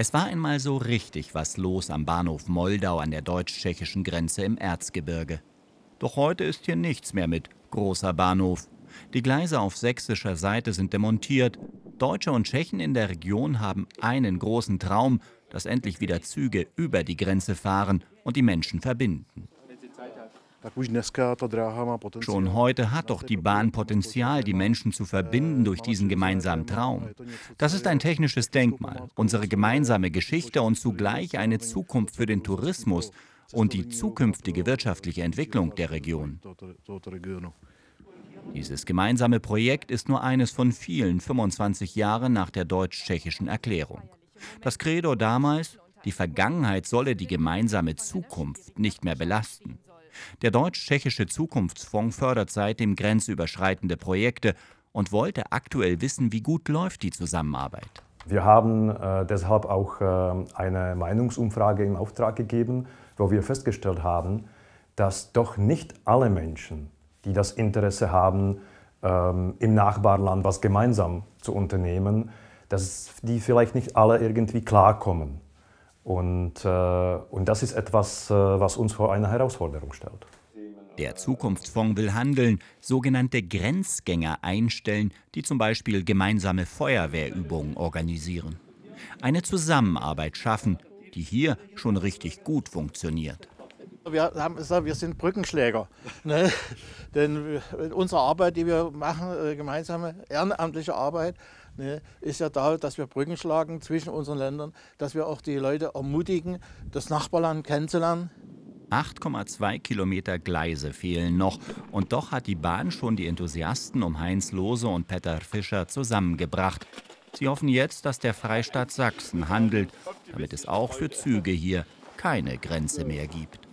Es war einmal so richtig was los am Bahnhof Moldau an der deutsch-tschechischen Grenze im Erzgebirge. Doch heute ist hier nichts mehr mit großer Bahnhof. Die Gleise auf sächsischer Seite sind demontiert. Deutsche und Tschechen in der Region haben einen großen Traum, dass endlich wieder Züge über die Grenze fahren und die Menschen verbinden. Schon heute hat doch die Bahn Potenzial, die Menschen zu verbinden durch diesen gemeinsamen Traum. Das ist ein technisches Denkmal, unsere gemeinsame Geschichte und zugleich eine Zukunft für den Tourismus und die zukünftige wirtschaftliche Entwicklung der Region. Dieses gemeinsame Projekt ist nur eines von vielen 25 Jahren nach der deutsch-tschechischen Erklärung. Das Credo damals: Die Vergangenheit solle die gemeinsame Zukunft nicht mehr belasten. Der Deutsch-Tschechische Zukunftsfonds fördert seitdem grenzüberschreitende Projekte und wollte aktuell wissen, wie gut läuft die Zusammenarbeit. Wir haben deshalb auch eine Meinungsumfrage in Auftrag gegeben, wo wir festgestellt haben, dass doch nicht alle Menschen, die das Interesse haben, im Nachbarland was gemeinsam zu unternehmen, dass die vielleicht nicht alle irgendwie klarkommen. Und das ist etwas, was uns vor eine Herausforderung stellt. Der Zukunftsfonds will handeln, sogenannte Grenzgänger einstellen, die zum Beispiel gemeinsame Feuerwehrübungen organisieren. Eine Zusammenarbeit schaffen, die hier schon richtig gut funktioniert. Wir haben gesagt, wir sind Brückenschläger. Ne? Denn unsere Arbeit, die wir machen, gemeinsame ehrenamtliche Arbeit, ne, ist ja da, dass wir Brücken schlagen zwischen unseren Ländern, dass wir auch die Leute ermutigen, das Nachbarland kennenzulernen. 8,2 Kilometer Gleise fehlen noch. Und doch hat die Bahn schon die Enthusiasten um Heinz Lohse und Peter Fischer zusammengebracht. Sie hoffen jetzt, dass der Freistaat Sachsen handelt, damit es auch für Züge hier keine Grenze mehr gibt.